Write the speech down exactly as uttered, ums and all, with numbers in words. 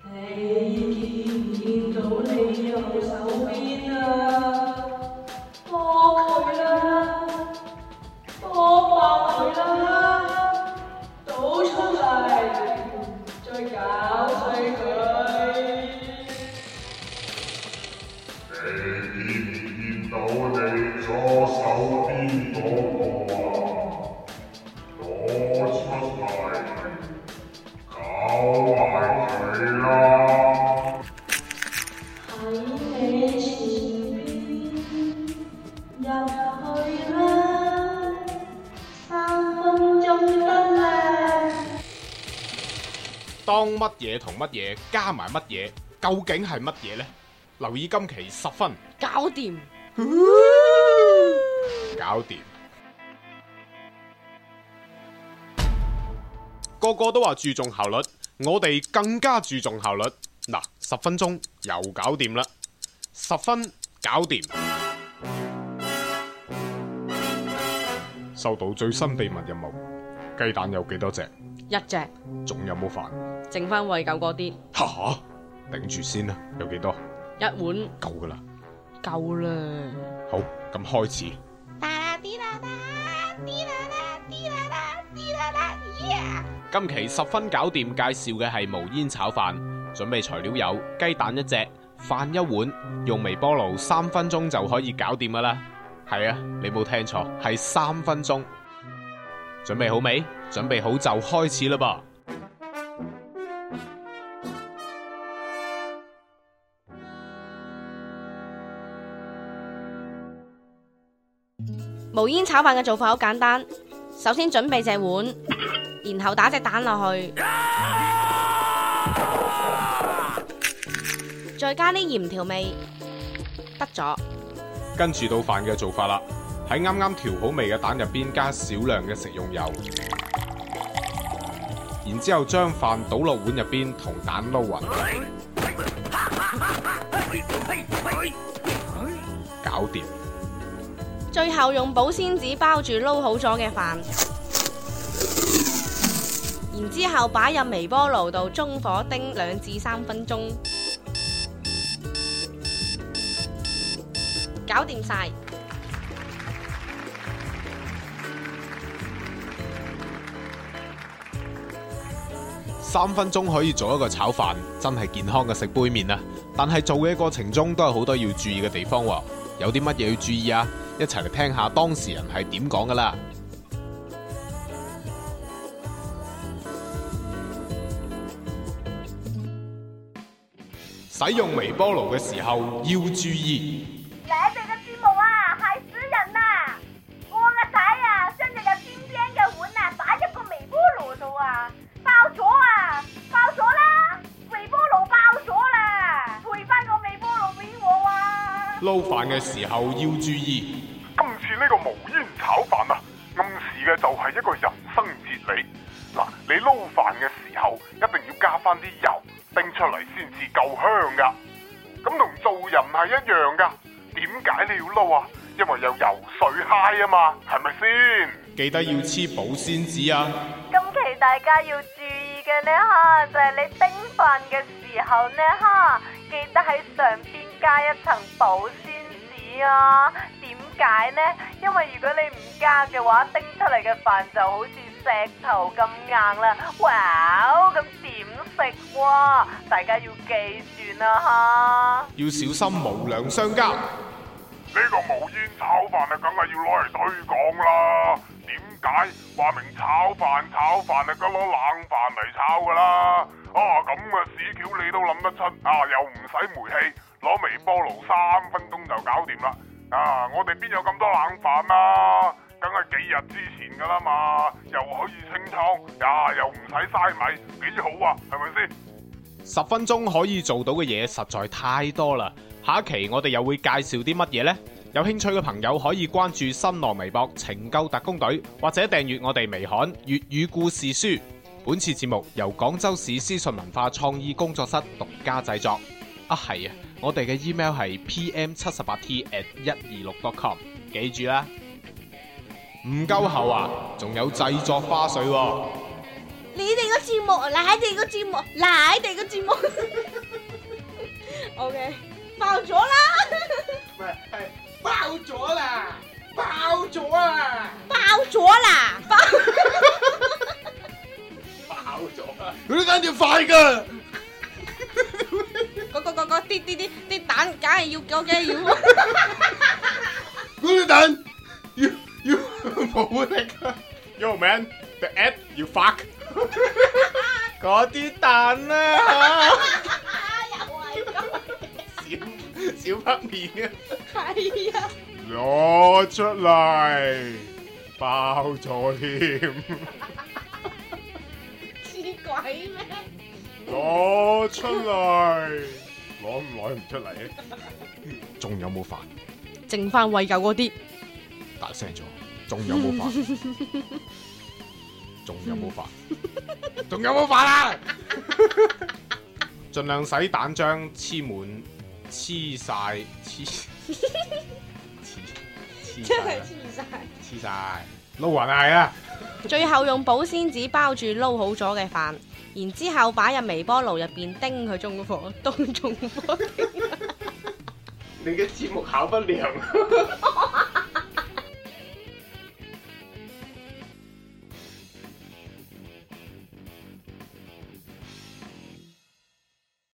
你見唔見到你右手邊啊？幫佢啦，幫爆佢啦，倒出嚟，再搞碎佢。 你見唔見到你左手邊嗰個啊？攞出嚟，搞埋佢啦！ 喺你前邊入去啦，三分鐘得啦。 當乜嘢同乜嘢加埋乜嘢，究竟係乜嘢呢？留意今期十分搞掂， 搞掂。個個都話注重效率，我哋更加注重效率。嗱，十分鐘又搞掂啦，十分搞掂。收到最新秘密任務，雞蛋有幾多隻？ 一隻， 仲有冇飯？ 剩翻餵狗嗰啲， 吓，頂住先啦，有幾多？ 一碗夠噶啦， 夠啦。 好，咁開始。今期十分搞掂，介紹嘅係無煙炒飯，準備材料有雞蛋一隻，飯一碗，用微波爐三分鐘就可以搞掂噶啦。係啊，你冇聽錯，係三分鐘。準備好未？準備好就開始啦噃。 無煙炒飯嘅做法好簡單，首先準備隻碗，然後打隻蛋落去，再加啲鹽調味，得咗。 跟住到飯嘅做法啦，喺啱啱調好味嘅蛋入邊加少量嘅食用油，然之後將飯倒落碗入邊同蛋撈勻，搞掂。 最後用保鮮紙包住撈好咗嘅飯，然之後擺入微波爐度中火叮兩至三分鐘，搞掂晒。 三分鐘可以做一個炒飯，真係健康嘅食杯麵啊！但係做嘅過程中都有好多要注意嘅地方喎，有啲乜嘢要注意啊？一齊嚟聽下當事人係點講噶啦！使用微波爐嘅時候要注意。 你哋嘅節目啊，害死人啦！我個仔啊，將隻有邊邊嘅碗啊，擺入個微波爐度啊，爆咗啊，爆咗啦！微波爐爆咗啦，賠翻個微波爐俾我啊！ 撈飯嘅時候要注意。 今次呢個無煙炒飯啊，暗示嘅就係一個人生哲理。嗱，你撈飯嘅時候一定要加翻啲油，叮出嚟先至夠香噶。咁同做人係一樣噶。點解你要撈啊？因為有油水嗨啊嘛，係咪先？ 記得要黐保鮮紙啊！ 今期大家要注意嘅呢，吓就係你叮飯嘅時候呢，吓記得喺上邊加一層保鮮紙啊！點解呢？因為如果你唔加嘅話，叮出嚟嘅飯就好似石頭咁硬啦！哇，咁點食喎？大家要記住啦吓！ 要小心無良商家。 呢個無煙炒飯啊，梗係要攞嚟推廣啦！點解話明炒飯炒飯啊，梗攞冷飯嚟炒噶啦？啊，咁嘅屎橋你都諗得出啊？又唔使煤氣，攞微波爐三分鐘就搞掂啦！啊，我哋邊有咁多冷飯啊？梗係幾日之前噶啦嘛，又可以清倉，呀又唔使嘥米，幾好啊？係咪先？ 十分鐘可以做到嘅嘢實在太多啦。下一期我哋又會介紹啲乜嘢呢？有興趣嘅朋友可以關注新浪微博拯救特工隊，或者訂閱我哋微刊粵語故事書。本次節目由廣州市思信文化創意工作室獨家製作。啊係啊，我哋嘅 email 係 p m 七十八 t at 一二六 dot com， 記住啦。唔夠喉啊，仲有製作花絮喎。 你哋個節目，你哋個節目，你哋個節目。O K， 爆咗啦！ 唔係係爆咗啦！爆咗啊！ 爆咗啦！爆爆咗啊！嗰啲蛋要快㗎。 嗰個嗰個啲啲啲啲蛋，梗係要嗰嘅要。 嗰啲蛋要要冇力啊 ！Yo man, the egg you fuck 嗰啲蛋啊！ 又係咁， 小小黑面啊！ 係啊！ 攞出嚟，爆咗添！ 似鬼咩？ 攞出嚟，攞唔攞唔出嚟啊！仲有冇飯？ 剩翻餵狗嗰啲， 大聲咗，仲有冇飯？仲有冇飯？仲有冇飯啊？盡量使蛋漿黐滿，黐晒，黐黐真係晒， 黐晒。 黐晒，撈勻係啊！ 最後用保鮮紙包住撈好咗嘅飯，然之後擺入微波爐入邊叮佢中火，當中火。 你嘅節目考不良。